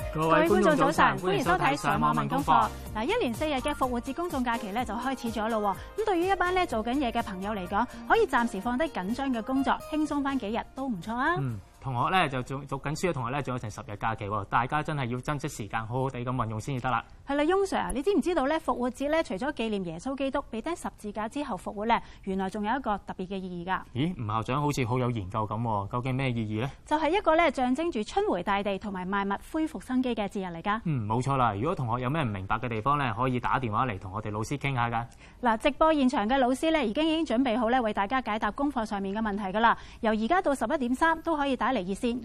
各位觀眾早晨，歡迎收睇上網問功課。嗱，一連4日嘅復活節公眾假期咧就開始咗咯。咁對於一班咧做緊嘢嘅朋友嚟講，可以暫時放低緊張嘅工作，輕鬆翻幾日都唔錯啊。 同學咧就讀緊書嘅同學咧，仲有成10日假期喎，大家真係要珍惜時間，好好地咁運用先至得啦。 係啦，翁 Sir， 你知唔知道咧復活節咧除咗紀念耶穌基督被釘十字架之後復活咧，原來仲有一個特別嘅意義㗎？ 咦，吳校長好似好有研究咁喎，究竟咩意義咧？ 就係一個咧象徵住春回大地同埋萬物恢復生機嘅節日嚟㗎。 冇錯啦。如果同學有咩唔明白嘅地方咧，可以打電話嚟同我哋老師傾下㗎。 嗱，直播現場嘅老師咧已經準備好咧為大家解答功課上面嘅問題㗎啦。由而家到11點3都可以打嚟熱線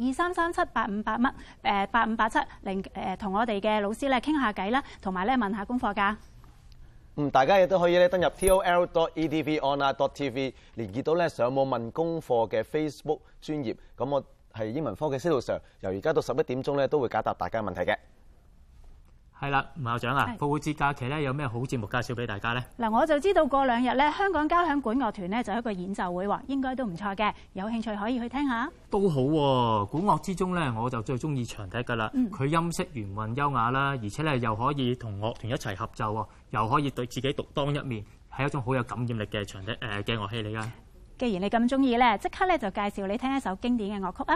23378587同我哋嘅老師咧傾下偈啦，同埋咧問下功課㗎。 大家亦都可以咧登入 tol.edvonline.tv 連結到咧上網問功課嘅 Facebook 專頁。咁我係英文科嘅司徒 Sir，由而家到11點鐘咧都會解答大家問題嘅。 係啦，吳校長啊，復活節假期咧有咩好節目介紹俾大家咧？ 嗱，我就知道過2日咧香港交響管樂團咧就有一個演奏會喎，應該都唔錯嘅，有興趣可以去聽下。 都好喎，管樂之中咧我就最中意長笛㗎啦。佢音色圓韻優雅啦，而且咧又可以同樂團一齊合奏喎，又可以對自己獨當一面，係一種好有感染力嘅長笛嘅樂器嚟㗎。 既然你咁中意咧，即刻咧就介紹你聽一首經典嘅樂曲啊！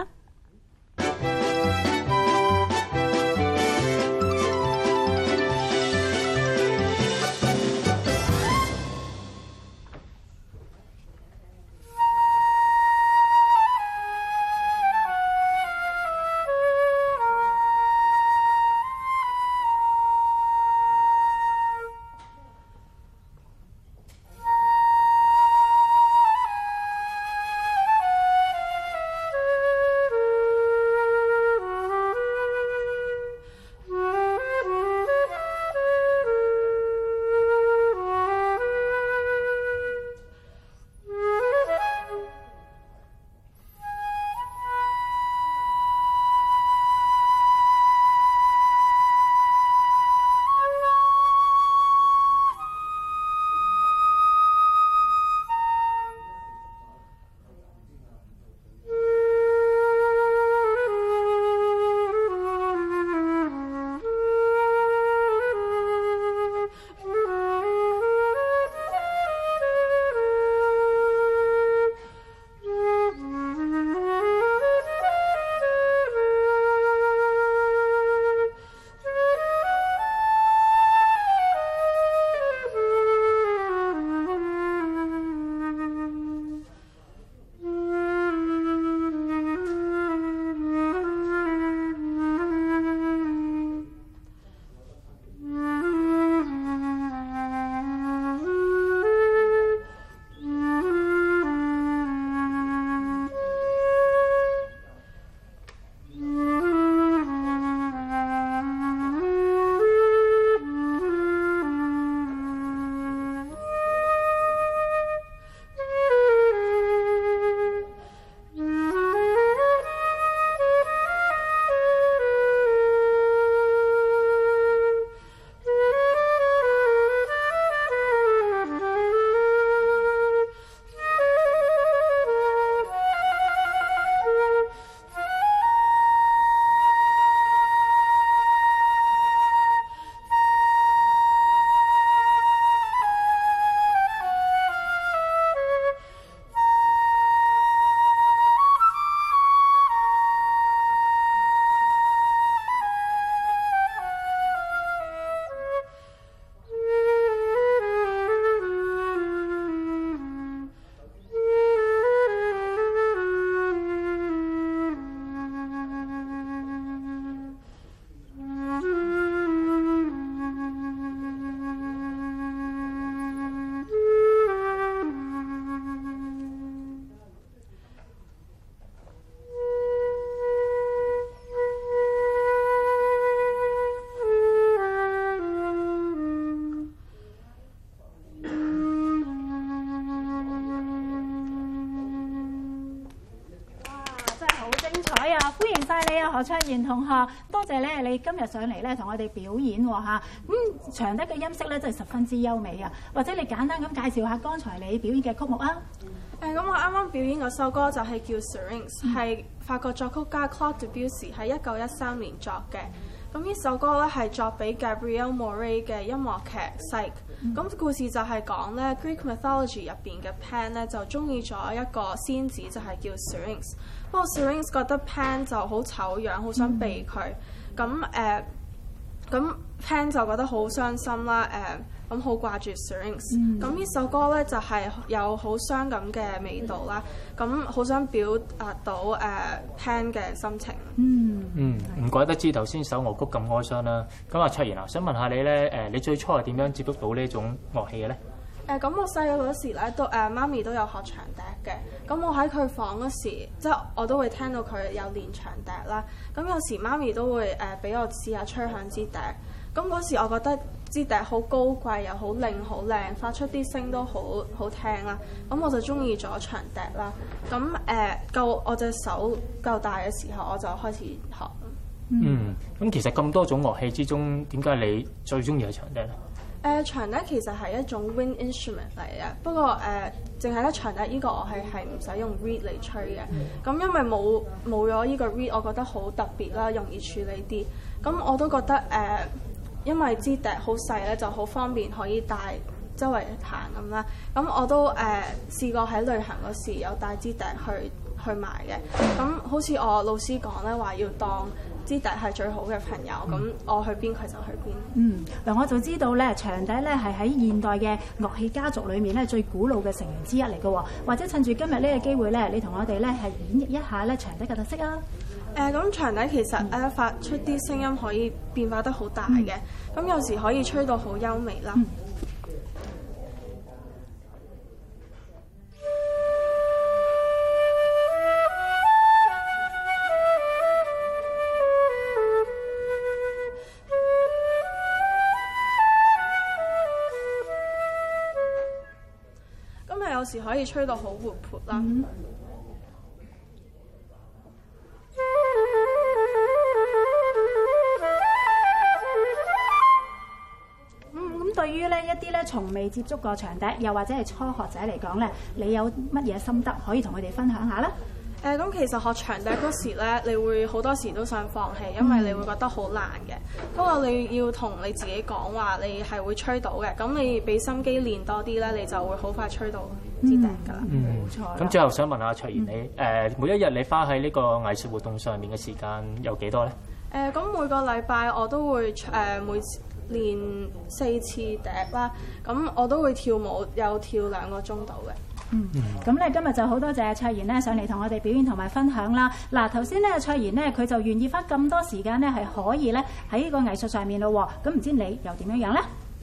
晒你啊，何卓賢同學，多謝咧你今日上嚟咧同我哋表演喎嚇。長笛嘅音色咧真係十分之優美啊！或者你簡單咁介紹下剛才你表演嘅曲目啊？ 咁我啱啱表演嗰首歌就係叫 Syrinx，係法國作曲家 Claude Debussy 喺1913年作嘅。 咁呢首歌咧係作俾 Gabrielle Moray 嘅音樂劇《Psyche》。咁故事就係講咧 Greek mythology 入邊嘅 Pan 咧就中意咗一個仙子，就係叫 Syrinx。不過 Syrinx 覺得 Pan 就好醜樣，好想避佢。咁 Pan 就覺得好傷心啦。咁好掛住 Syrinx。咁呢首歌咧就係有好傷感嘅味道啦。咁好想表達到Pan 嘅心情。 唔怪得知頭先首樂曲咁哀傷啦。咁阿卓妍啊，想問下你咧，你最初係點樣接觸到呢種樂器嘅咧？ 咁我細個嗰時咧，都媽咪都有學長笛嘅。咁我喺佢房嗰時，即係我都會聽到佢有練長笛啦。咁有時媽咪都會俾我試下吹響支笛。咁嗰時我覺得支笛好高貴又好靚好靚，發出啲聲都好好聽啦。咁我就中意咗長笛啦。咁夠我隻手夠大嘅時候，我就開始學。 咁其實咁多種樂器之中，點解你最中意係長笛咧？ 長笛其實係一種 wind instrument 嚟嘅，不過淨係咧長笛呢個我係唔使用 reed 嚟吹嘅。咁因為冇咗呢個 reed，我覺得好特別啦，容易處理啲。咁我都覺得因為支笛好細咧，就好方便可以帶周圍行咁啦。咁我都試過喺旅行嗰時有帶支笛去買嘅。咁好似我老師講咧，話要當支笛係最好嘅朋友，咁我去邊佢就去邊。 嗱我就知道咧，長笛咧係喺現代嘅樂器家族裏面咧最古老嘅成員之一嚟嘅喎。或者趁住今日呢個機會咧，你同我哋咧係演繹一下咧長笛嘅特色啊！ 咁長笛其實發出啲聲音可以變化得好大嘅，咁有時可以吹到好優美啦。咁有時可以吹到好活潑啦。 對於咧一啲咧從未接觸過長笛，又或者係初學者嚟講咧，你有乜嘢心得可以同佢哋分享下咧？ 咁其實學長笛嗰時咧，你會好多時都想放棄，因為你會覺得好難嘅。不過你要同你自己講話，你係會吹到嘅。咁你俾心機練多啲咧，你就會好快吹到支笛㗎啦。 冇錯。 咁最後想問下卓妍，你每一日你花喺呢個藝術活動上面嘅時間有幾多咧？ 咁每個禮拜我都會每練4次笛啦。咁我都會跳舞，有跳2個鐘度嘅。 咁咧今日就好多謝卓妍咧上嚟同我哋表演同埋分享啦。嗱頭先咧卓妍咧佢就願意花咁多時間咧係可以咧喺呢個藝術上面咯喎。咁唔知你又點樣樣咧？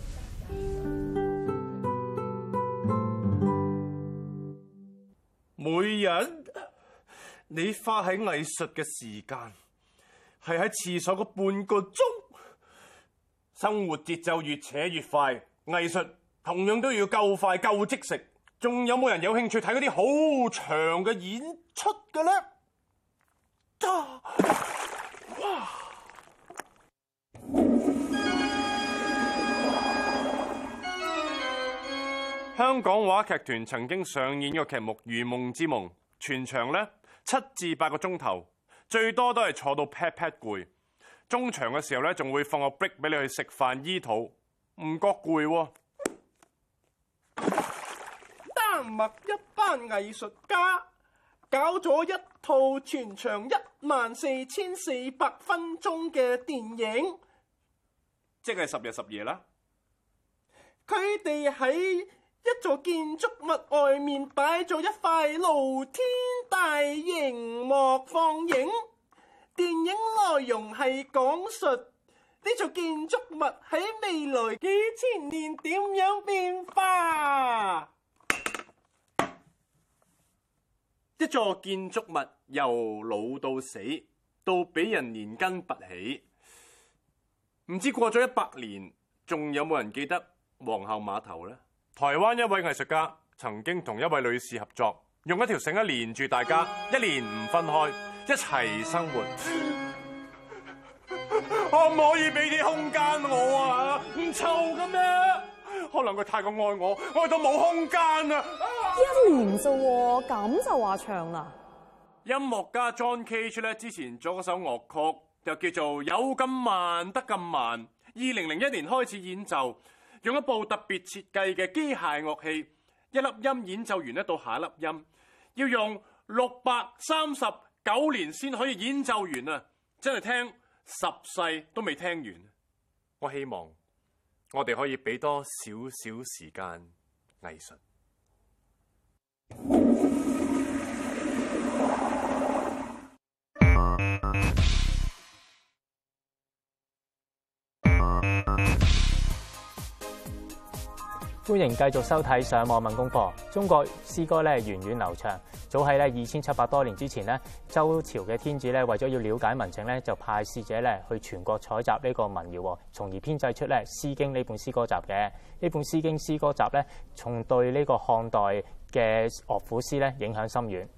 每日你花喺藝術嘅時間係喺廁所嗰半個鐘，生活節奏越扯越快，藝術同樣都要夠快夠即食。仲有冇人有興趣睇嗰啲好長嘅演出嘅咧？哇！香港話劇團曾經上演個劇目《如夢之夢》，全場咧7至8個鐘頭，最多都係坐到 pat pat 攰。中場嘅時候咧，仲會放個 break 俾你去食飯醫肚，唔覺攰喎。丹麥一班藝術家搞咗一套全長14400分鐘嘅電影，即係10日10夜啦。佢哋喺一座建築物外面擺咗一塊露天大螢幕放映，電影內容係講述呢座建築物喺未來幾千年點樣變化。一座建築物由老到死，到俾人連根拔起，唔知過咗100年，仲有冇人記得皇后碼頭呢？台灣一位藝術家曾經同一位女士合作，用一條繩連住大家，1年唔分開，一齊生活。可唔可以俾啲空間我啊？唔臭嘅咩？可能佢太過愛我，愛到冇空間啊！1 年啫喎，咁就話長啦。 音樂家 John Cage 咧之前做嗰首樂曲， 又叫做有咁慢得咁慢。2001年開始演奏，用一部特別設計嘅機械樂器，一粒音演奏完咧到下一粒音，要用639年先可以演奏完啊！真係聽10世都未聽完。我希望我哋可以俾多少少時間藝術。 歡迎繼續收睇上網問功課。中國詩歌咧源遠流長，早喺咧2700多年之前咧，周朝嘅天子咧為咗要了解民情咧，就派使者咧去全國採集呢個民謠，從而編製出咧《詩經》呢本詩歌集嘅。呢本《詩經》詩歌集咧，從對呢個漢代嘅樂府詩咧影響深遠。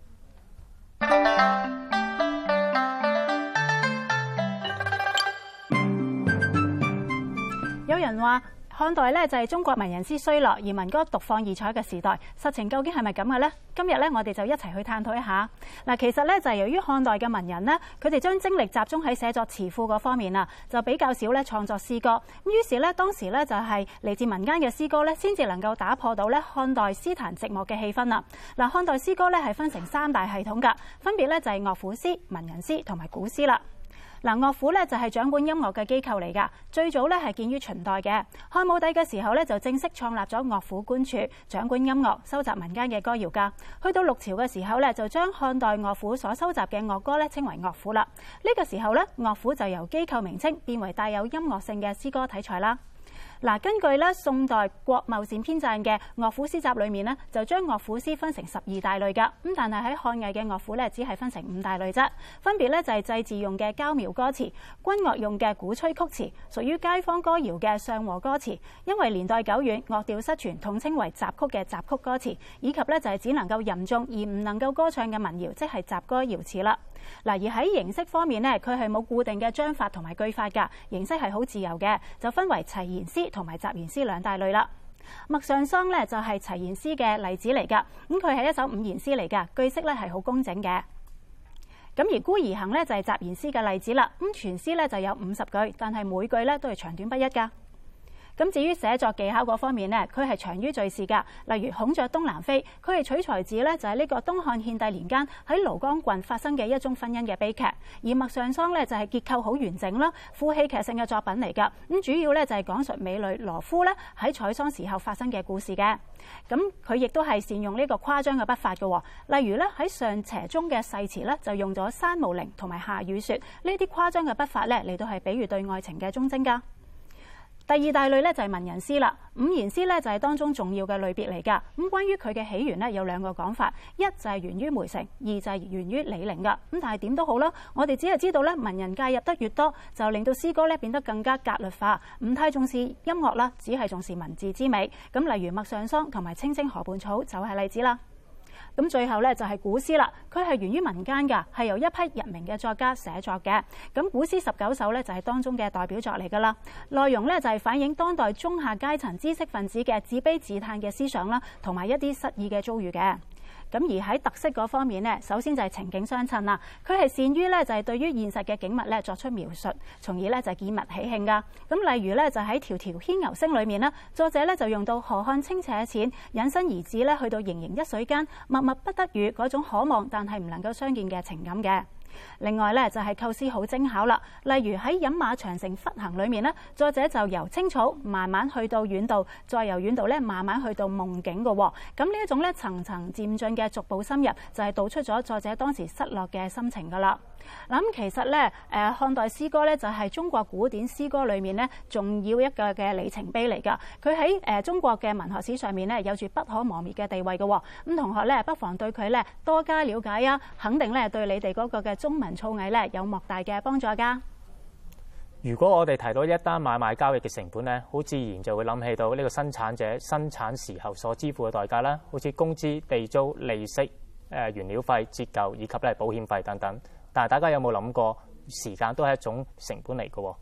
有人話漢代咧就係中國文人詩衰落而民歌獨放異彩嘅時代，實情究竟係咪咁嘅呢？今日咧我哋就一齊去探討一下。嗱，其實咧就係由於漢代嘅文人呢，佢哋將精力集中喺寫作詞賦嗰方面啊，就比較少咧創作詩歌。咁於是咧當時咧就係嚟自民間嘅詩歌咧，先至能夠打破到咧漢代詩壇寂寞嘅氣氛啦。嗱，漢代詩歌咧係分成3大系統㗎，分別咧就係樂府詩、文人詩同埋古詩啦。嗱，樂府咧就係掌管音樂嘅機構嚟㗎，最早咧係建於秦代嘅。漢武帝嘅時候咧就正式創立咗樂府官署，掌管音樂、收集民間嘅歌謠㗎。去到6朝嘅時候咧，就將漢代樂府所收集嘅樂歌咧稱為樂府啦。呢個時候咧，樂府就由機構名稱變為帶有音樂性嘅詩歌體裁啦。嗱，根據咧宋代郭茂善編撰嘅樂府詩集裏面呢，就將樂府詩分成12大類㗎。咁但係喺漢魏嘅樂府咧，只係分成5大類啫。分別咧就係祭祀用嘅交廟歌詞、軍樂用嘅鼓吹曲詞、屬於街坊歌謠嘅上和歌詞。因為年代久遠，樂調失傳，統稱為雜曲嘅雜曲歌詞，以及咧就係只能夠吟誦而唔能夠歌唱嘅民謠，即係雜歌謠詞啦。嗱，而喺形式方面呢，佢係冇固定嘅章法同埋句法㗎，形式係好自由嘅，就分為齊言詩同埋雜言詩2大類啦。《陌上桑》咧就係齊言詩嘅例子嚟㗎，咁佢係一首5言詩嚟㗎，句式咧係好工整嘅。咁而《孤兒行》咧就係雜言詩嘅例子啦，咁全詩咧就有50句，但係每句咧都係長短不一㗎。咁至於寫作技巧嗰方面呢，佢係長於敘事㗎。例如《孔雀東南飛》，佢係取材自呢就係呢個東漢獻帝年間喺廬江郡發生嘅一宗婚姻嘅悲劇。而《陌上桑》呢就係結構好完整啦，富戲劇性嘅作品嚟㗎。咁主要呢就係講述美女羅敷呢喺採桑時候發生嘅故事嘅。咁佢亦都係善用呢個誇張嘅筆法嘅。例如呢喺上邪中嘅誓詞呢，就用咗山無陵同埋下雨雪呢啲誇張嘅筆法呢嚟到係比喻對愛情嘅忠貞㗎。第2大類咧就係文人詩啦，5言詩咧就係當中重要嘅類別嚟㗎。咁關於佢嘅起源咧有2個講法，一就係源於梅城，二就係源於李陵㗎。咁但係點都好啦，我哋只係知道咧文人介入得越多，就令到詩歌咧變得更加格律化，唔太重視音樂啦，只係重視文字之美。咁例如《陌上桑》同埋《青青河畔草》就係例子啦。咁最後咧就係古詩啦，佢係源於民間㗎，係由一批日名嘅作家寫作嘅。咁古詩19首咧就係當中嘅代表作嚟㗎啦。內容咧就係反映當代中下階層知識分子嘅自卑自嘆嘅思想啦，同埋一啲失意嘅遭遇嘅。咁而喺特色嗰方面呢，首先就係情景相襯啦。佢係善於咧就係對於現實嘅景物咧作出描述，從而咧就係見物喜慶㗎。咁例如咧就喺《迢迢牽牛聲》裏面呢，作者咧就用到河漢清且淺，引申而至咧去到盈盈一水間，默默不得語嗰種可望但係唔能夠相見嘅情感嘅。另外咧就係構思好精巧啦，例如喺《飲馬長城忽行》裏面呢，作者就由青草慢慢去到遠道，再由遠道咧慢慢去到夢境嘅。咁呢一種咧層層漸進嘅逐步深入，就係道出咗作者當時失落嘅心情㗎啦。嗱，咁其實咧漢代詩歌咧就係中國古典詩歌裏面咧重要一個嘅里程碑嚟㗎。佢喺中國嘅文學史上面咧有住不可磨滅嘅地位嘅。咁同學咧不妨對佢咧多加了解啊，肯定咧對你哋嗰個嘅中文造詣咧有莫大嘅幫助㗎。 如果我哋提到一單買賣交易嘅成本咧，好自然就會諗起到呢個生產者生產時候所支付嘅代價啦，好似工資、地租、利息、原料費、折舊以及咧保險費等等。但係大家有冇諗過，時間都係一種成本嚟嘅？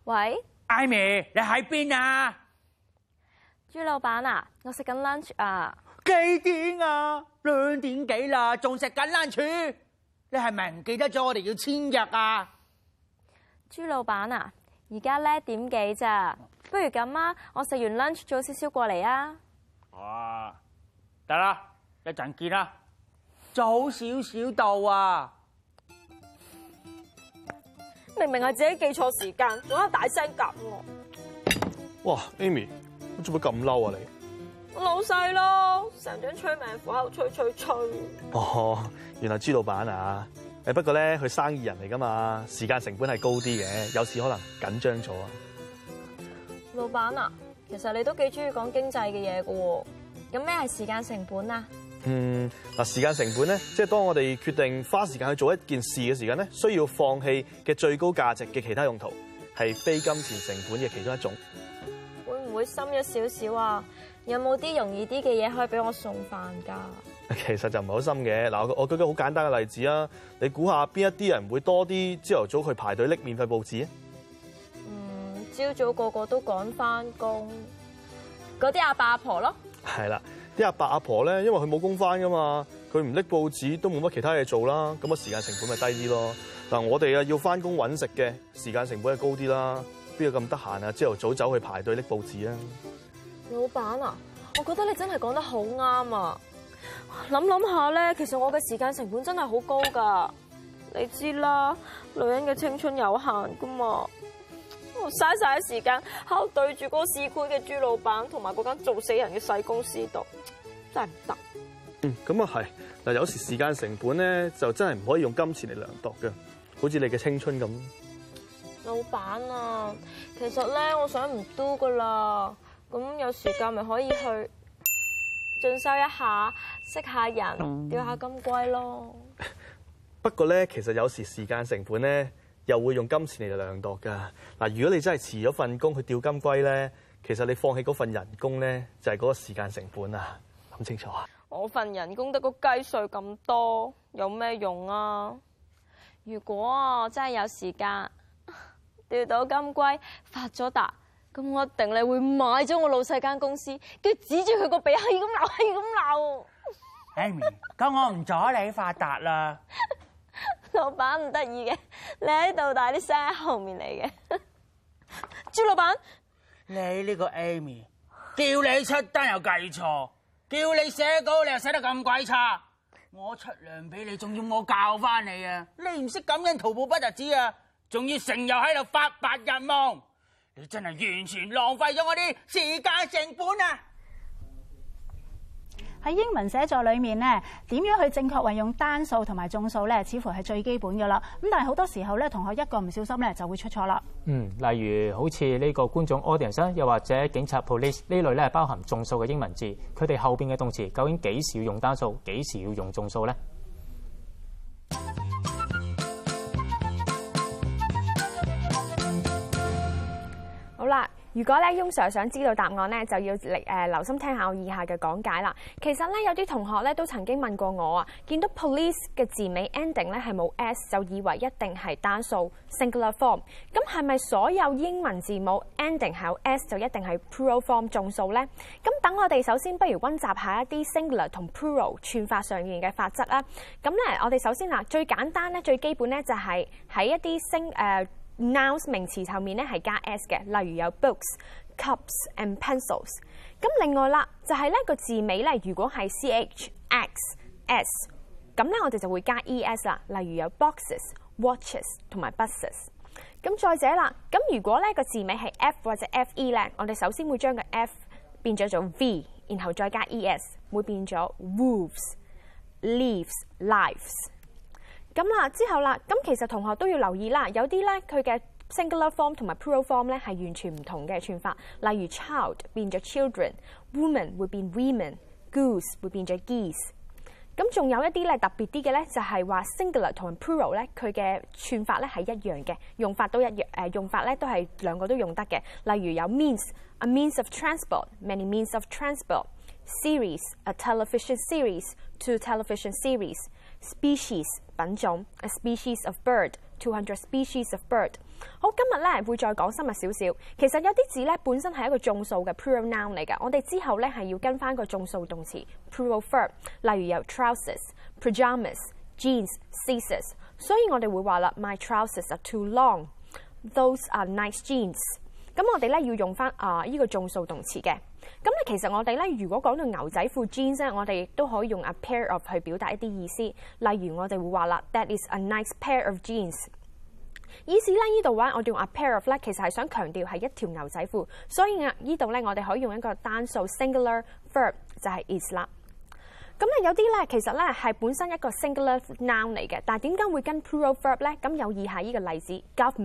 喂 ，Amy， 你喺邊啊？ 朱老闆啊，我食緊 lunch 啊。 幾點啊？2點幾啦，仲食緊 lunch？你係咪唔記得咗我哋要簽約啊？ 朱老闆啊，而家呢點幾咋？不如咁啊，我食完 lunch 早少少過嚟啊。 哇，得啦，一陣見啦。早少少到啊！ 明明係自己記錯時間，仲喺度大聲夾我。 哇 ，Amy， 你做乜咁嬲啊你？ 我老細咯，成張催命符喺度催。 哦，原來朱老闆啊！不過咧，佢生意人嚟噶嘛，時間成本係高啲嘅，有時可能緊張咗啊。 老闆啊，其實你都幾中意講經濟嘅嘢噶喎。咁咩係時間成本啊？ 嗱，時間成本咧，即係當我哋決定花時間去做一件事嘅時間咧，需要放棄嘅最高價值嘅其他用途，係非金錢成本嘅其中一種。 會唔會深咗少少啊？有冇啲容易啲嘅嘢可以俾我送飯㗎？ 其實就唔係好深嘅。嗱，我舉個好簡單嘅例子啊，你估下邊一啲人會多啲朝頭早去排隊拎免費報紙啊？ 朝早個個都趕返工，嗰啲阿伯阿婆咯。 係啦，啲阿伯阿婆咧，因為佢冇工返㗎嘛，佢唔拎報紙都冇乜其他嘢做啦，咁啊時間成本咪低啲咯。嗱，我哋啊要返工揾食嘅，時間成本係高啲啦，邊有咁得閒啊？朝頭早走去排隊拎報紙啊？ 老闆啊，我覺得你真係講得好啱啊！諗下咧，其實我嘅時間成本真係好高㗎。你知啦，女人嘅青春有限㗎嘛，我嘥晒啲時間喺度對住嗰個市儈嘅朱老闆同埋嗰間做死人嘅細公司度，真係唔得。 咁啊係。嗱，有時時間成本咧就真係唔可以用金錢嚟量度嘅，好似你嘅青春咁。 老闆啊，其實咧我想唔 do 㗎啦。咁有時間咪可以去進修一下，識下人，釣下金龜咯。 不過咧，其實有時時間成本咧又會用金錢嚟量度㗎。嗱，如果你真係辭咗份工去釣金龜咧，其實你放棄嗰份人工咧就係嗰個時間成本啊！諗清楚啊！ 我份人工得個雞碎咁多，有咩用啊？如果真係有時間釣到金龜發咗達，咁我一定你會買咗我老細間公司，跟住指住佢個鼻，係咁鬧，係咁鬧。 Amy， 咁我唔阻你發達啦。 老闆唔得意嘅，你喺度，但係啲聲喺後面嚟嘅。朱老闆， 你呢個 Amy， 叫你出單又計錯，叫你寫稿你又寫得咁鬼差，我出糧俾你，仲要我教翻你啊！你唔識感恩圖報不特止啊，仲要成日喺度發白日夢。你真係完全浪費咗我啲時間成本啊！ 喺英文寫作裏面咧，點樣去正確運用單數同埋眾數咧，似乎係最基本㗎啦。咁但係好多時候咧，同學一個唔小心咧就會出錯啦。 例如好似呢個觀眾 audience 又或者警察 police 呢類咧，係包含眾數嘅英文字，佢哋後邊嘅動詞究竟幾時要用單數，幾時要用眾數咧？ 好啦，如果咧翁 Sir 想知道答案咧，就要留心聽下我以下嘅講解啦。其實咧有啲同學咧都曾經問過我啊，見到 police 嘅字尾 ending 咧係冇 s， 就以為一定係單數 singular form。咁係咪所有英文字母 ending 係有 s 就一定係 plural form 眾數咧？咁等我哋首先不如溫習下一啲 singular 同 plural 串法上面嘅法則啦。咁咧我哋首先嗱最簡單咧最基本咧就係喺一啲nouns 名詞後面咧係加 s 嘅，例如有 books、cups and pencils。咁另外啦，就係咧個字尾咧，如果係 ch、x、s， 咁咧我哋就會加 es 啦，例如有 boxes、watches 同埋 buses。咁再者啦，咁如果咧個字尾係 f 或者 fe 咧，我哋首先會將個 f 變咗做 v， 然後再加 es， 會變咗 wolves、leaves、lives。咁啦，之後啦，咁其實同學都要留意啦，有啲咧佢嘅 singular form 同埋 plural form 咧係完全唔同嘅串法，例如 child 變咗 children，woman 會變 women，goose 會變咗 geese。咁仲有一啲咧特別啲嘅咧，就係話 singular 同埋 plural 咧佢嘅串法咧係一樣嘅，用法都一樣，用法咧都係兩個都用得嘅。例如有 means，a means of transport，many means of transport。series，a television series，two television series。species 品種 ，a species of bird 200 species of bird。好，今日咧會再講深入少少。其實有啲字咧本身係一個眾數嘅 plural noun 嚟㗎，我哋之後咧係要跟翻個眾數動詞 plural verb，例如有 trousers、pajamas、jeans、scissors， 所以我哋會話啦 ，My trousers are too long，those are nice jeans。咁我哋咧要用翻呢個眾數動詞嘅。咁咧其實我哋咧如果講到牛仔褲 jeans 咧，我哋亦都可以用 a pair of 去表達一啲意思。例如我哋會話啦 ，That is a nice pair of jeans。意思咧呢度話我哋用 a pair of 咧，其實係想強調係一條牛仔褲，所以呢度咧我哋可以用一個單數 singular verb 就係 is 啦。咁咧有啲咧其實咧係本身一個 singular noun 嚟嘅，但係點解會跟 plural verb 咧？咁有以下呢個例子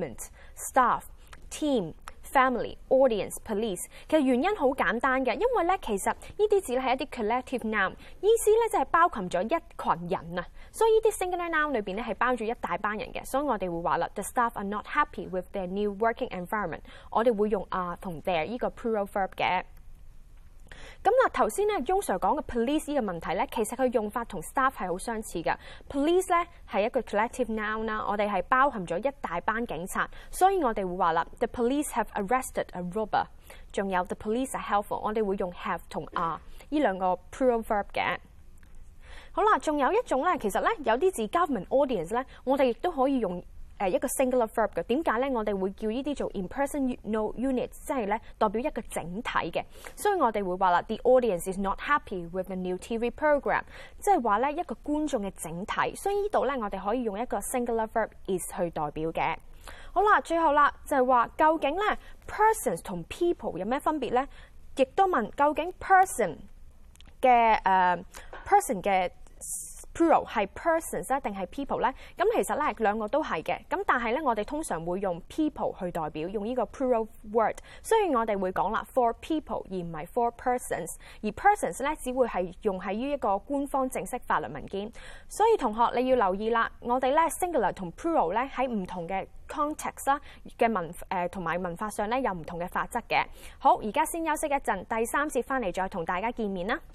：government、staff、team、family、audience、police。其實原因好簡單嘅，因為咧其實呢啲字咧係一啲 collective noun， 意思咧就係包含咗一群人啊。所以呢啲 singular noun 裏邊咧係包住一大班人嘅，所以我哋會話啦 ，the staff are not happy with their new working environment。我哋會用同 their 呢個 plural verb 嘅。咁嗱，頭先咧，翁 Sir 講嘅 police 呢個問題咧，其實佢用法同 staff 係好相似嘅。police 咧係一個 collective noun 啦，我哋係包含咗一大班警察，所以我哋會話啦 ，the police have arrested a robber。仲有 the police are helpful， 我哋會用 have 同 are 呢兩個 plural verb 嘅。好啦，仲有一種咧，其實咧有啲字 government、audience 咧，我哋亦都可以用一個 singular verb 嘅。點解咧？我哋會叫呢啲做 in-person unit， 即係咧代表一個整體嘅。所以我哋會話啦 ，the audience is not happy with the new TV program， 即係話咧一個觀眾嘅整體。所以呢度咧我哋可以用一個 singular verb is 去代表嘅。好啦，最後啦就係話究竟咧 persons 同 people 有咩分別咧？亦都問究竟 person 嘅person 嘅plural 係 persons 咧定係 people 咧？咁其實咧兩個都係嘅，咁但係咧我哋通常會用 people 去代表，用呢個 plural word， 所以我哋會講啦 for people 而唔係 for persons， 而 persons 咧只會係用喺於一個官方正式法律文件。所以同學你要留意啦，我哋咧 singular 同 plural 咧喺唔同嘅 context 啦嘅同埋文化上咧有唔同嘅法則嘅。好，而家先休息一陣，第3節翻嚟再同大家見面啦。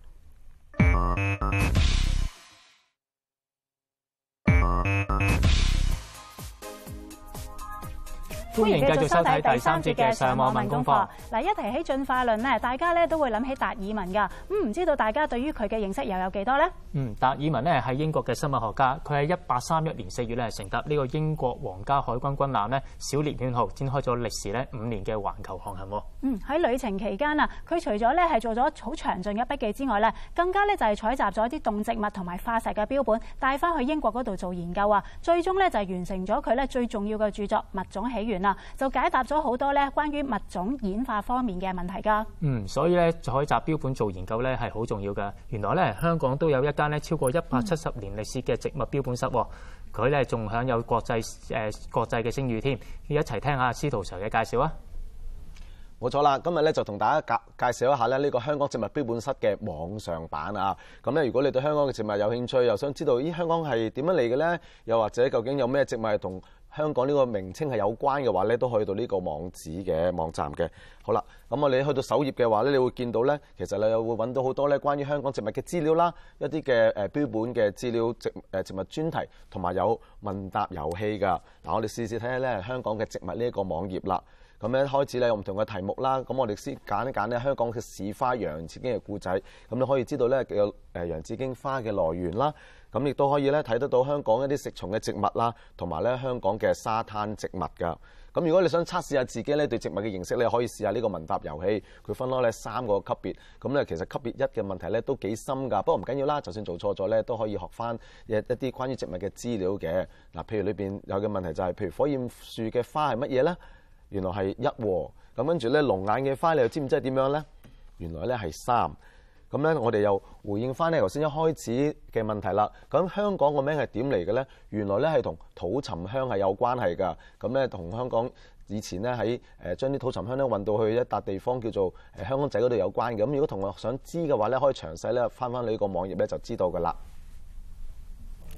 歡迎繼續收睇第3節嘅上網問功課。 嗱，一提起進化論咧，大家咧都會諗起達爾文㗎。唔知道大家對於佢嘅認識又有幾多呢？ 達爾文咧係英國嘅生物學家，佢喺1831年4月咧乘搭呢個英國皇家海軍軍艦咧小獵犬號，展開咗歷時咧5年嘅環球航行。 喺旅程期間啊，佢除咗咧係做咗好詳盡嘅筆記之外咧，更加咧就係採集咗一啲動植物同埋化石嘅標本，帶翻去英國嗰度做研究啊。最終咧就係完成咗佢咧最重要嘅著作《物種起源》啊，就解答咗好多咧關於物種演化方面嘅問題㗎。 所以咧採集標本做研究咧係好重要㗎。原來咧香港都有一間咧超過170年歷史嘅植物標本室，佢咧仲享有國際嘅聲譽添。要一齊聽下司徒 Sir 嘅介紹啊！ 冇錯啦，今日咧就同大家介紹一下咧呢個香港植物標本室嘅網上版啊！咁咧，如果你對香港嘅植物有興趣，又想知道香港係點樣嚟嘅咧，又或者究竟有咩植物係同香港呢個名稱係有關嘅話咧，都可以到呢個網站嘅。好啦，咁我哋去到首頁嘅話咧，你會見到咧，其實你又會揾到好多咧關於香港植物嘅資料啦，一啲嘅標本嘅資料、植物專題，同埋有問答遊戲㗎。嗱，我哋試試睇下咧香港嘅植物呢一個網頁啦。咁咧開始咧有唔同嘅題目啦，咁我哋先揀一揀咧香港嘅市花洋紫荊嘅故仔，咁你可以知道咧嘅洋紫荊花嘅來源啦，咁亦都可以咧睇得到香港一啲食蟲嘅植物啦，同埋咧香港嘅沙灘植物㗎。咁如果你想測試下自己咧對植物嘅認識咧，可以試下呢個問答遊戲，佢分開咧3個級別，咁咧其實級別1嘅問題咧都幾深㗎，不過唔緊要啦，就算做錯咗咧都可以學翻一啲關於植物嘅資料嘅。嗱，譬如裏邊有嘅問題就係，譬如火焰樹嘅花係乜嘢咧？原來係1喎，咁跟住咧龍眼嘅花你又知唔知係點樣咧？原來咧係3。咁咧我哋又回應翻咧頭先一開始嘅問題啦。咁香港個名係點嚟嘅咧？原來咧係同土沉香係有關係㗎。咁咧同香港以前咧喺將啲土沉香咧運到去一笪地方叫做香港仔嗰度有關嘅。咁如果同學想知嘅話咧，可以詳細咧翻呢個網頁咧就知道㗎啦。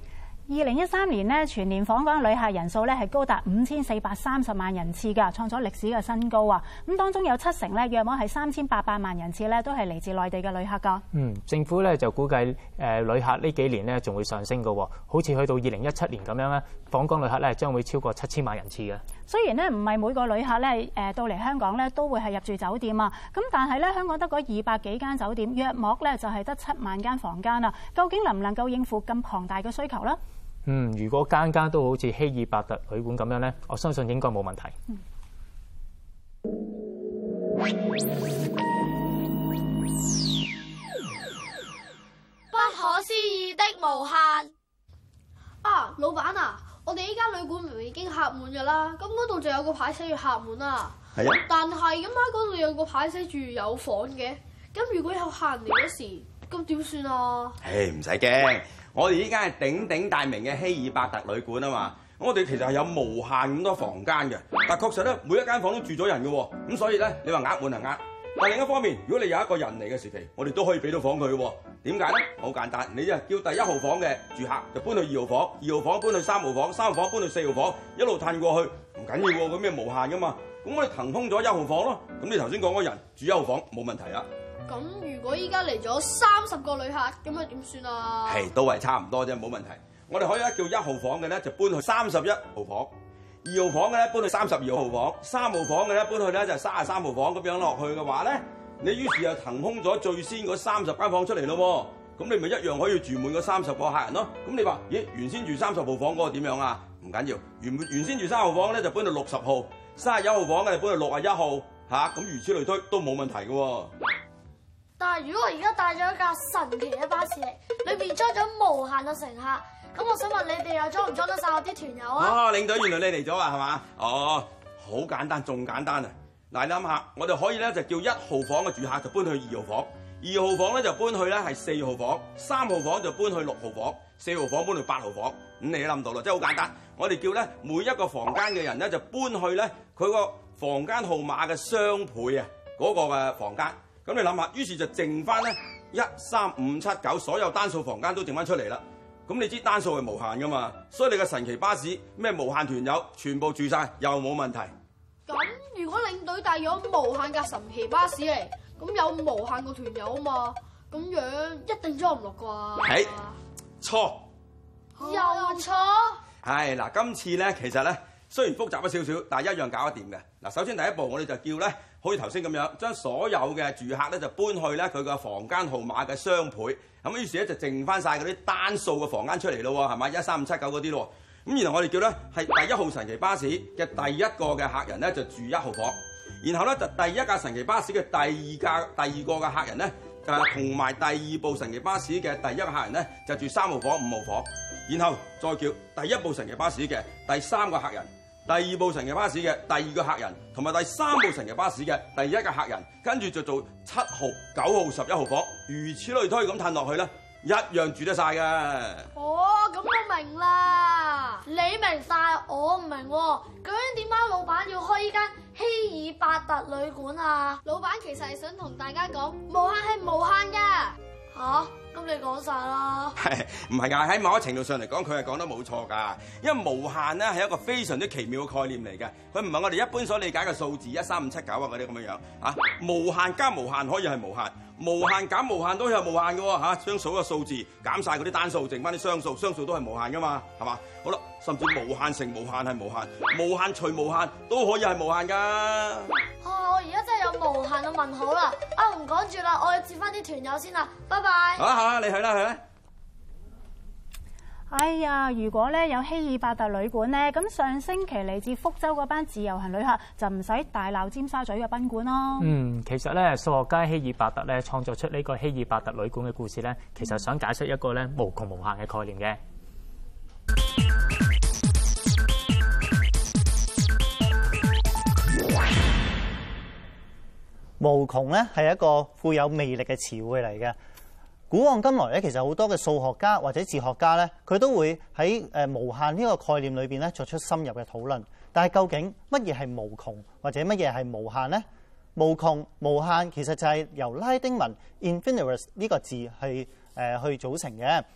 2013年呢，全年訪港旅客人數咧係高達5430萬人次㗎，創咗歷史嘅新高啊！咁當中有70%咧，約莫係3800萬人次咧，都係嚟自內地嘅旅客㗎。 政府咧就估計旅客呢幾年咧仲會上升㗎喎，好似去到2017年咁樣咧，訪港旅客咧將會超過7000萬人次嘅。 雖然咧唔係每個旅客咧到嚟香港咧都會係入住酒店啊，咁但係咧香港得嗰200幾間酒店，約莫咧就係得7萬間房間啊，究竟能唔能夠應付咁龐大嘅需求咧？ 如果間間都好似希爾伯特旅館咁樣咧，我相信應該冇問題。 不可思議的無限啊！老闆啊，我哋依間旅館明明已經客滿㗎啦，咁嗰度就有個牌寫住客滿啊。係啊。但係咁喺嗰度有個牌寫住有房嘅，咁如果有客人嚟嗰時，咁點算啊？ 唔使驚。我哋依間係鼎鼎大名嘅希爾伯特旅館啊嘛，我哋其實係有無限咁多房間嘅，但確實咧每一間房都住咗人嘅喎，咁所以咧你話額滿係額，但另一方面，如果你有一個人嚟嘅時期，我哋都可以俾到房佢嘅喎。點解咧？好簡單，你就叫第1號房嘅住客就搬去2號房，2號房搬去3號房，3號房搬去4號房，一路褪過去，唔緊要喎，咁咩無限噶嘛，咁我哋騰空咗1號房咯，咁你頭先講嗰人住1號房冇問題啦。 咁如果依家嚟咗30個旅客，咁啊點算啊？ 都係差唔多啫，冇問題。我哋可以叫1號房嘅咧就搬去31號房，2號房嘅咧搬去32號房，3號房嘅咧搬去咧就33號房，咁樣落去嘅話咧，你於是又騰空咗最先嗰30間房出嚟咯喎，咁你咪一樣可以住滿嗰30個客人咯。咁你話咦，原先住30號房嗰個點樣啊？唔緊要，原先住3號房咧就搬到60號，31號房嘅就搬到61號嚇，咁如此類推都冇問題嘅喎。 但係如果我而家帶咗一架神奇嘅巴士嚟，裏面裝咗無限嘅乘客，咁我想問你哋又裝唔裝得晒我啲團友啊？ 領隊，原來你嚟咗啊，係嘛？好簡單，仲簡單啊！嗱，你諗下，我哋可以咧就叫1號房嘅住客就搬去2號房，2號房咧就搬去咧係4號房，3號房就搬去6號房，4號房搬去8號房。咁你都諗到啦，真係好簡單。我哋叫咧每一個房間嘅人咧就搬去咧佢個房間號碼嘅雙倍啊，嗰個嘅房間。咁你諗下，於是就剩翻咧1、3、5、7、9，所有單數房間都剩翻出嚟啦。咁你知單數係無限噶嘛，所以你嘅神奇巴士咩無限團友全部住晒又冇問題。 咁如果領隊帶咗無限架神奇巴士嚟，咁有無限個團友啊嘛，咁樣一定裝唔落啩？ 錯， 又錯。 係嗱，今次咧其實咧雖然複雜咗少少，但係一樣搞得掂嘅。嗱，首先第一步我哋就叫咧，好似頭先咁樣，將所有嘅住客咧就搬去咧佢個房間號碼嘅雙倍，咁於是咧就剩翻晒嗰啲單數嘅房間出嚟咯喎，係咪？1、3、5、7、9嗰啲咯。咁然後我哋叫咧係第1號神奇巴士嘅第一個嘅客人咧就住1號房，然後咧就第一架神奇巴士嘅第二個嘅客人咧同埋第2部神奇巴士嘅第一個客人咧就住3號房、5號房，然後再叫第1部神奇巴士嘅第3個客人、第2部神奇巴士嘅第2個客人同埋第3部神奇巴士嘅第1個客人，跟住就做7號、9號、11號房，如此類推咁褪落去咧，一樣住得晒嘅。 咁我明啦，你明晒，我唔明喎。究竟點解老闆要開依間希爾伯特旅館啊？老闆其實係想同大家講，無限係無限㗎。咁你講晒啦。 唔係㗎，喺某一程度上嚟講，佢係講得冇錯㗎。因為無限咧係一個非常之奇妙嘅概念嚟嘅，佢唔係我哋一般所理解嘅數字1、3、5、7、9啊嗰啲咁樣樣嚇。無限加無限可以係無限，無限減無限都係無限嘅喎嚇。將數個數字減晒嗰啲單數，剩翻啲雙數，雙數都係無限㗎嘛，係嘛？好啦，甚至無限乘無限係無限，無限除無限都可以係無限㗎。 我而家真係有無限嘅問號啦！唔講住啦，我要接翻啲團友先啦，拜拜。 好，你去啦。 哎呀，如果咧有希爾伯特旅館咧，咁上星期嚟自福州嗰班自由行旅客就唔使大鬧尖沙咀嘅賓館咯。 其實咧數學家希爾伯特咧創作出呢個希爾伯特旅館嘅故事咧，其實想解釋一個咧無窮無限嘅概念嘅。 無窮咧係一個富有魅力嘅詞彙嚟嘅。古往今來咧，其實好多嘅數學家或者哲學家咧，佢都會喺無限呢個概念裏邊咧作出深入嘅討論。但係究竟乜嘢係無窮或者乜嘢係無限呢？無窮無限其實就係由拉丁文 infinitus 呢個字去組成嘅。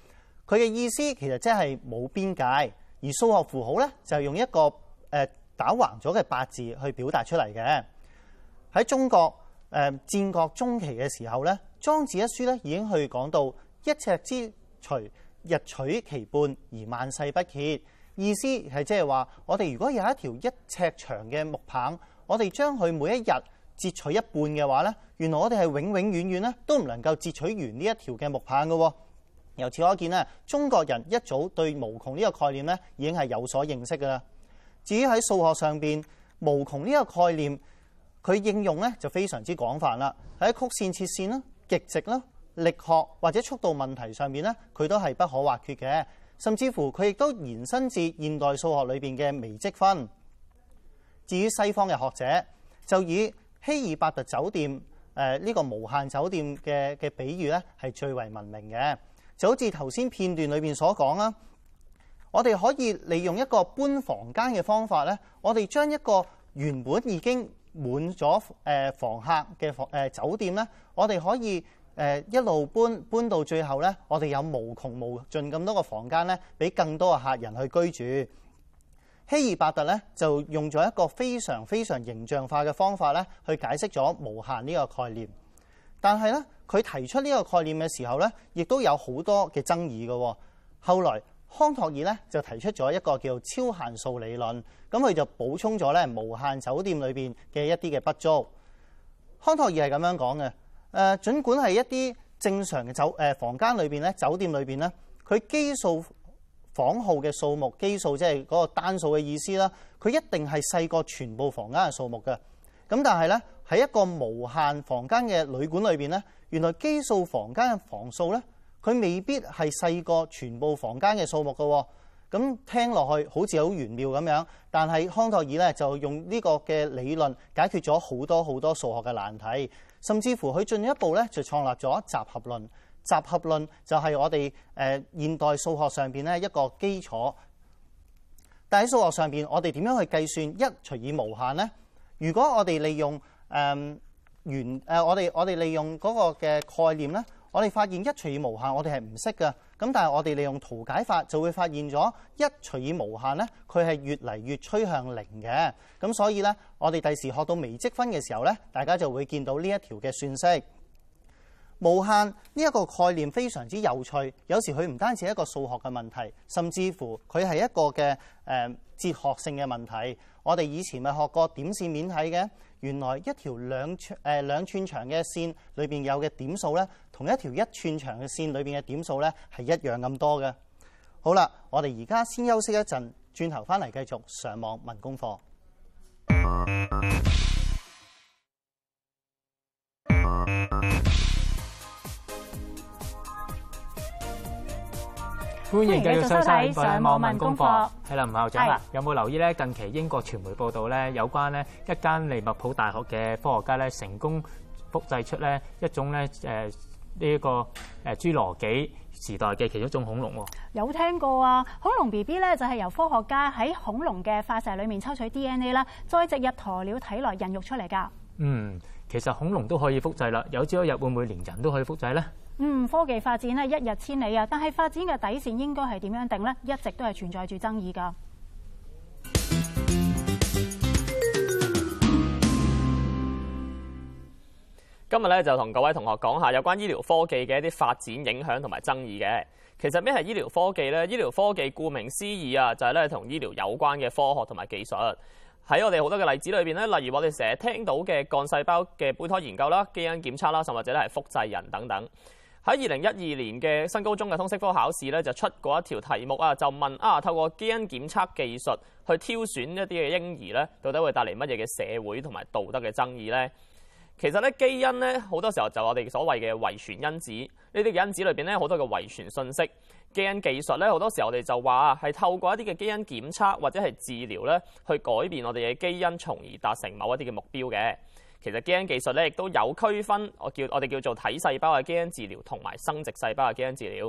佢嘅意思其實即係冇邊界，而數學符號咧就係用一個打橫咗嘅八字去表達出嚟嘅。喺中國戰國中期嘅時候咧，《莊子》一書咧已經去講到一尺之錘，日取其半而萬世不竭。意思係即係話，我哋如果有一條1尺長嘅木棒，我哋將佢每一日截取一半嘅話咧，原來我哋係永永遠遠咧都唔能夠截取完呢一條嘅木棒嘅。由此可見咧，中國人一早對無窮呢個概念咧已經係有所認識㗎啦。至於喺數學上邊，無窮呢個概念，佢應用咧就非常之廣泛啦。喺曲線、切線啦、極值啦、力學或者速度問題上面咧，佢都係不可或缺嘅。甚至乎佢亦都延伸至現代數學裏邊嘅微積分。至於西方嘅學者，就以希爾伯特酒店呢個無限酒店嘅比喻咧，係最為聞名嘅。就好似頭先片段裏邊所講啦，我哋可以利用一個搬房間嘅方法咧，我哋將一個原本已經滿咗房客嘅酒店咧，我哋可以一路搬到最後咧，我哋有無窮無盡咁多個房間咧，俾更多嘅客人去居住。希爾伯特咧就用咗一個非常非常形象化嘅方法咧，去解釋咗無限呢個概念。但係咧，佢提出呢個概念嘅時候咧，亦都有好多嘅爭議嘅。後來康托爾咧就提出咗一個叫超限數理論，咁佢就補充咗咧無限酒店裏邊嘅一啲嘅不足。康托爾係咁樣講嘅。儘管係一啲正常嘅房間裏邊咧，酒店裏邊咧，佢基數房號嘅數目，基數即係嗰個單數嘅意思啦，佢一定係細過全部房間嘅數目嘅。咁但係咧，喺一個無限房間嘅旅館裏邊咧，原來基數房間嘅房數咧，佢未必係細過全部房間嘅數目嘅。咁聽落去好似好玄妙咁樣，但係康托爾咧就用呢個嘅理論解決咗好多好多數學嘅難題，甚至乎佢進一步咧就創立咗集合論。集合論就係我哋現代數學上邊咧一個基礎。但喺數學上邊，我哋點樣去計算一除以無限呢？如果我哋利用我哋利用嗰個嘅概念咧，我哋發現一除以無限我哋係唔識嘅。咁但係我哋利用圖解法就會發現咗一除以無限咧，佢係越嚟越趨向零嘅。咁所以咧，我哋第時學到微積分嘅時候咧，大家就會見到呢一條嘅算式。無限呢一個概念非常之有趣，有時佢唔單止係一個數學嘅問題，甚至乎佢係一個嘅哲學性嘅問題。我哋以前咪學過點線面體嘅，原來一條兩寸長嘅線裏邊有嘅點數咧，同一條1寸長嘅線裏邊嘅點數咧係一樣咁多嘅。好啦，我哋而家先休息一陣，轉頭翻嚟繼續上網問功課。 歡迎繼續收睇上網問功課。係啦，吳校長啊，有冇留意咧？近期英國傳媒報道咧，有關咧一間利物浦大學嘅科學家咧，成功複製出咧一種咧呢個侏羅紀時代嘅其中一種恐龍喎。 有聽過啊？恐龍 BB 咧就係由科學家喺恐龍嘅化石裡面抽取 DNA 啦，再植入鴕鳥體內孕育出嚟㗎。 其實恐龍都可以複製啦，有朝一日會唔會連人都可以複製咧？ 科技發展咧一日千里啊，但係發展嘅底線應該係點樣定呢？一直都係存在住爭議㗎。 今日咧就同各位同學講下有關醫療科技嘅一啲發展影響同埋爭議嘅。其實咩係醫療科技呢？醫療科技顧名思義啊，就係咧同醫療有關嘅科學同埋技術。喺我哋好多嘅例子裏邊咧，例如我哋成日聽到嘅幹細胞嘅胚胎研究啦、基因檢測啦，甚或者咧係複製人等等。喺2012年嘅新高中嘅通識科考試咧，就出過一條題目啊，就問透過基因檢測技術去挑選一啲嘅嬰兒咧，到底會帶嚟乜嘢嘅社會同埋道德嘅爭議呢？其實咧，基因咧好多時候就我哋所謂嘅遺傳因子，呢啲嘅因子裏邊咧好多嘅遺傳信息。基因技術咧好多時候我哋就話係透過一啲嘅基因檢測或者係治療咧，去改變我哋嘅基因，從而達成某一啲嘅目標嘅。其實基因技術咧亦都有區分，我哋叫做體細胞嘅基因治療同埋生殖細胞嘅基因治療。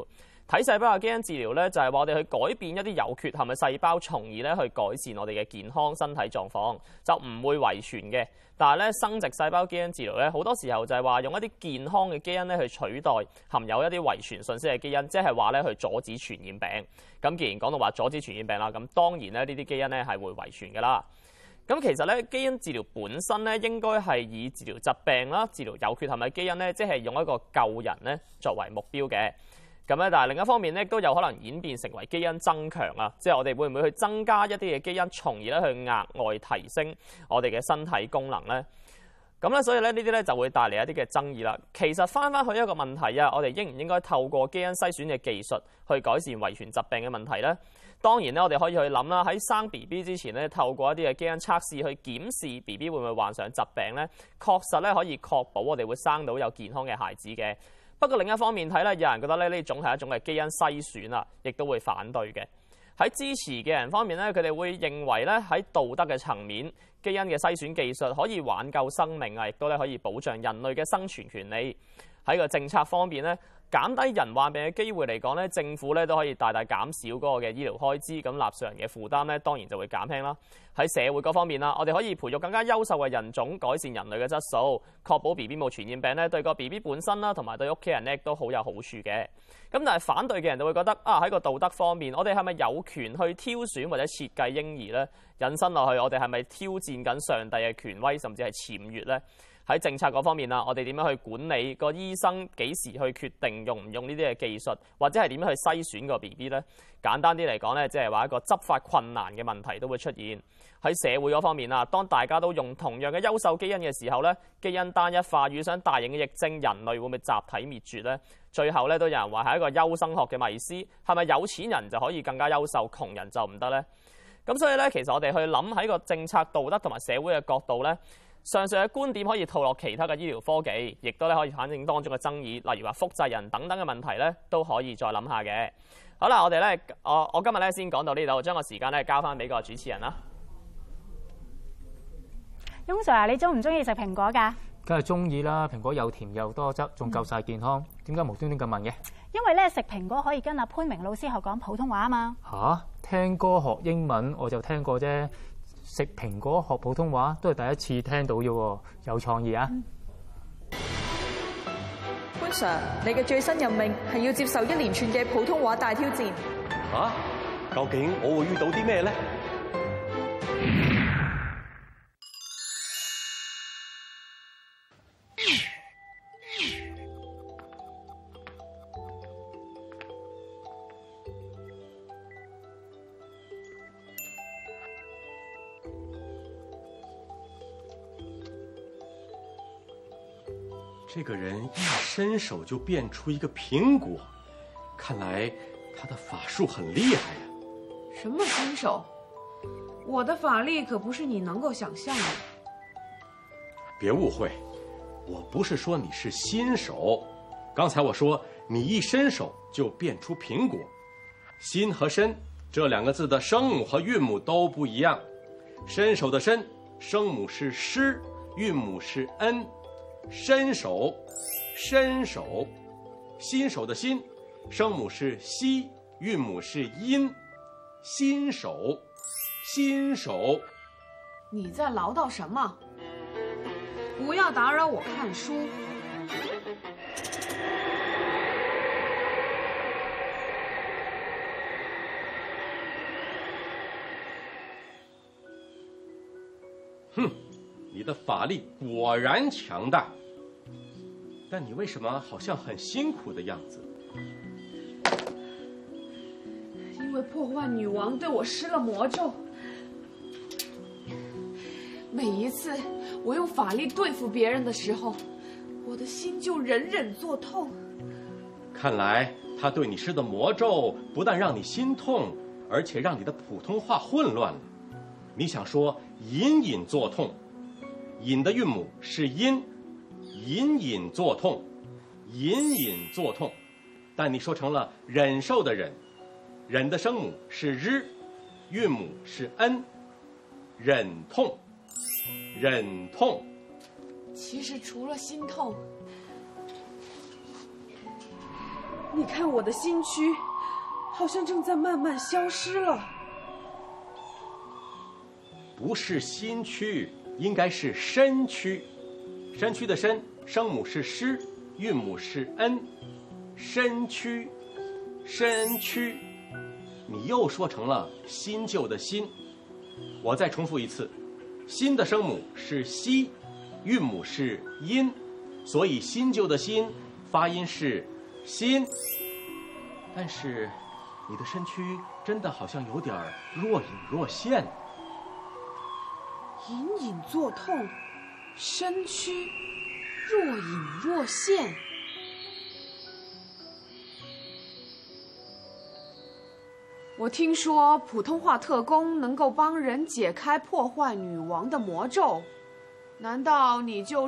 體細胞嘅基因治療咧，就係話我哋去改變一啲有缺陷嘅細胞，從而咧去改善我哋嘅健康身體狀況，就唔會遺傳嘅。但係咧，生殖細胞基因治療咧，好多時候就係話用一啲健康嘅基因咧去取代含有一啲遺傳信息嘅基因，即係話咧去阻止傳染病。咁既然講到話阻止傳染病啦，咁當然咧呢啲基因咧係會遺傳㗎啦。咁其實咧，基因治療本身咧應該係以治療疾病啦、治療有缺陷嘅基因咧，即係用一個救人咧作為目標嘅。咁咧，但係另一方面咧，都有可能演變成為基因增強啊，即係我哋會唔會去增加一啲嘅基因，從而咧去額外提升我哋嘅身體功能咧？咁咧，所以咧呢啲咧就會帶嚟一啲嘅爭議啦。其實翻去一個問題啊，我哋應唔應該透過基因篩選嘅技術去改善遺傳疾病嘅問題咧？當然咧，我哋可以去諗啦，喺生 BB 之前咧，透過一啲嘅基因測試去檢視 BB 會唔會患上疾病咧，確實咧可以確保我哋會生到有健康嘅孩子嘅。不過另一方面睇咧，有人覺得咧呢種係一種嘅基因篩選啊，亦都會反對嘅。喺支持嘅人方面咧，佢哋會認為咧喺道德嘅層面，基因嘅篩選技術可以挽救生命啊，亦都咧可以保障人類嘅生存權利。喺個政策方面咧，減低人患病嘅機會嚟講咧，政府咧都可以大大減少嗰個嘅醫療開支，咁納稅人嘅負擔咧當然就會減輕啦。喺社會嗰方面啦，我哋可以培育更加優秀嘅人種，改善人類嘅質素，確保 BB 冇傳染病咧，對個 BB 本身啦，同埋對屋企人咧都好有好處嘅。咁但係反對嘅人就會覺得喺個道德方面，我哋係咪有權去挑選或者設計嬰兒咧？引申落去，我哋係咪挑戰緊上帝嘅權威，甚至係僭越咧？喺政策嗰方面啦，我哋點樣去管理個醫生幾時去決定用唔用呢啲嘅技術，或者係點樣去篩選個 BB 呢？簡單啲嚟講呢，即係話一個執法困難嘅問題都會出現。喺社會嗰方面啦，當大家都用同樣嘅優秀基因嘅時候呢，基因單一化遇上大型嘅疫症，人類會唔會集體滅絕呢？最後呢，都有人話係一個優生學嘅迷思，係咪有錢人就可以更加優秀，窮人就唔得呢？咁所以呢，其實我哋去諗喺個政策道德同埋社會嘅角度呢，上述嘅觀點可以套落其他嘅醫療科技，亦都咧可以反映當中嘅爭議，例如話複製人等等嘅問題咧，都可以再諗下嘅。好啦，我哋咧，我今日咧先講到呢度，將個時間咧交翻俾個主持人啦。 翁 Sir， 你中唔中意食蘋果㗎？ 梗係中意啦，蘋果又甜又多汁，仲夠晒健康。點解無端端咁問嘅？ 因為咧食蘋果可以跟阿潘明老師學講普通話啊嘛。嚇，聽歌學英文我就聽過啫。食蘋果學普通話都係第一次聽到啫喎，有創意啊！ 潘 Sir， 你嘅最新任命係要接受一連串嘅普通話大挑戰。 嚇，究竟我會遇到啲咩咧？ 这个人一伸手就变出一个苹果，看来他的法术很厉害呀。 什么伸手？我的法力可不是你能够想象的。 别误会，我不是说你是新手，刚才我说你一伸手就变出苹果。新和伸这两个字的声母和韵母都不一样，伸手的伸，声母是诗，韵母是恩。伸手，伸手，新手的新，声母是西，韵母是音。新手，新手。 你在唠叨什么？不要打扰我看书。 哼，你的法力果然强大，但你为什么好像很辛苦的样子？ 因为破坏女王对我施了魔咒。每一次我用法力对付别人的时候，我的心就忍忍作痛。 看来他对你施的魔咒不但让你心痛，而且让你的普通话混乱了。你想说隐隐作痛，隐的韵母是音，隐隐作痛，隐隐作痛，但你说成了忍受的忍，忍的声母是日，韵母是恩，忍痛，忍痛。 其实除了心痛， 你看我的新区，好像正在慢慢消失了。 不是新区，应该是身区。身区的身，声母是诗，韵母是恩。身区，身区，你又说成了新旧的新。我再重复一次，新的声母是西，韵母是音，所以新旧的新发音是新。但是你的身躯真的好像有点若隐若现。 隐隐作痛，身躯若隐若现。我听说普通话特工能够帮人解开破坏女王的魔咒，难道你就是？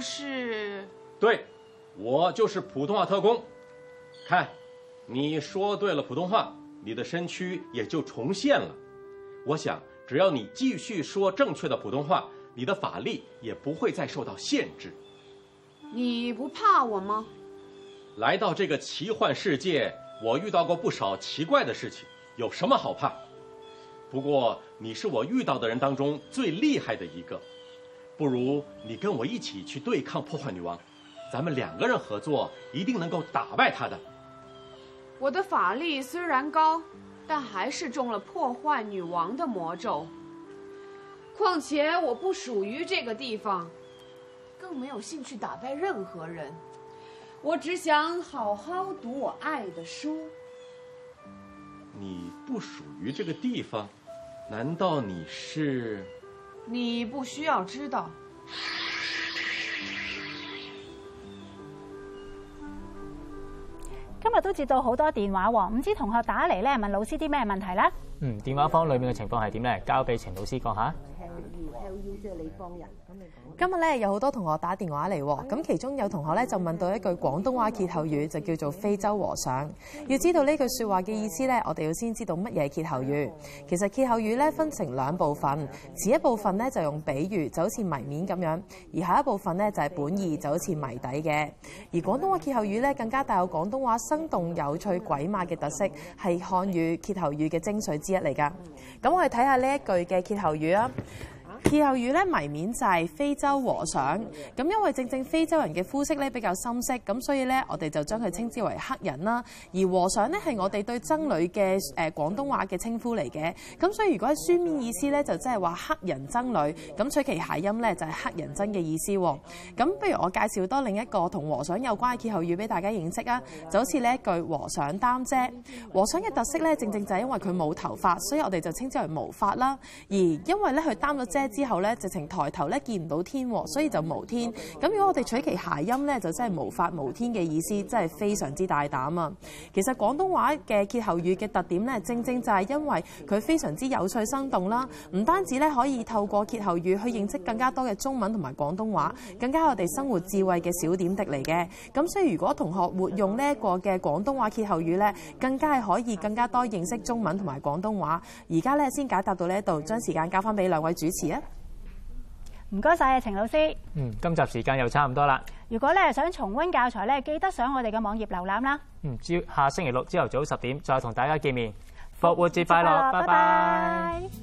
对，我就是普通话特工。看，你说对了普通话，你的身躯也就重现了。我想，只要你继续说正确的普通话，你的法力也不会再受到限制。 你不怕我吗？ 来到这个奇幻世界，我遇到过不少奇怪的事情。有什么好怕？不过你是我遇到的人当中最厉害的一个，不如你跟我一起去对抗破坏女王，咱们2个人合作，一定能够打败她的。 我的法力虽然高，但还是中了破坏女王的魔咒。况且我不属于这个地方，更没有兴趣打败任何人。我只想好好读我爱的书。 你不属于这个地方，难道你是？ 你不需要知道。 今日都接到好多電話喎，唔知同學打嚟咧問老師啲咩問題啦？ 電話房裏面嘅情況係點咧？交俾程老師講下。 即係你幫人。今日咧有好多同學打電話嚟喎，咁其中有同學咧就問到一句廣東話歇後語，就叫做非洲和尚。要知道呢句説話嘅意思咧，我哋要先知道乜嘢係歇後語。其實歇後語咧分成2部分，前一部分咧就用比喻，就好似謎面咁樣；而下一部分咧就係本意，就好似謎底嘅。而廣東話歇後語咧更加帶有廣東話生動有趣鬼馬嘅特色，係漢語歇後語嘅精髓之一嚟㗎。咁我哋睇下呢一句嘅歇後語啊。歇後語咧謎面就係非洲和尚，咁因為正非洲人嘅膚色咧比較深色，咁所以咧我哋就將佢稱之為黑人啦。而和尚咧係我哋對僧侶嘅廣東話嘅稱呼嚟嘅，咁所以如果喺書面意思咧就即係話黑人僧侶，咁取其諧音咧就係黑人僧嘅意思喎。咁不如我介紹多另一個同和尚有關嘅歇後語俾大家認識啊，就好似呢一句和尚擔遮。和尚嘅特色咧正就係因為佢冇頭髮，所以我哋就稱之為無髮啦。而因為咧佢擔咗遮之後咧，直情抬頭咧見唔到天，所以就無天。咁如果我哋取其諧音咧，就真係無法無天嘅意思，真係非常之大膽啊！其實廣東話嘅歇後語嘅特點咧，正就係因為佢非常之有趣生動啦，唔單止咧可以透過歇後語去認識更加多嘅中文同埋廣東話，更加係我哋生活智慧嘅小點滴嚟嘅。咁所以如果同學活用呢一個嘅廣東話歇後語咧，更加係可以更加多認識中文同埋廣東話。而家咧先解答到呢一度，將時間交翻俾2位主持啊！ 唔該晒啊，程老師。 今集時間又差唔多啦。 如果咧想重溫教材咧，記得上我哋嘅網頁瀏覽啦。 下星期6朝頭早10點再同大家見面。復活節快樂，拜拜。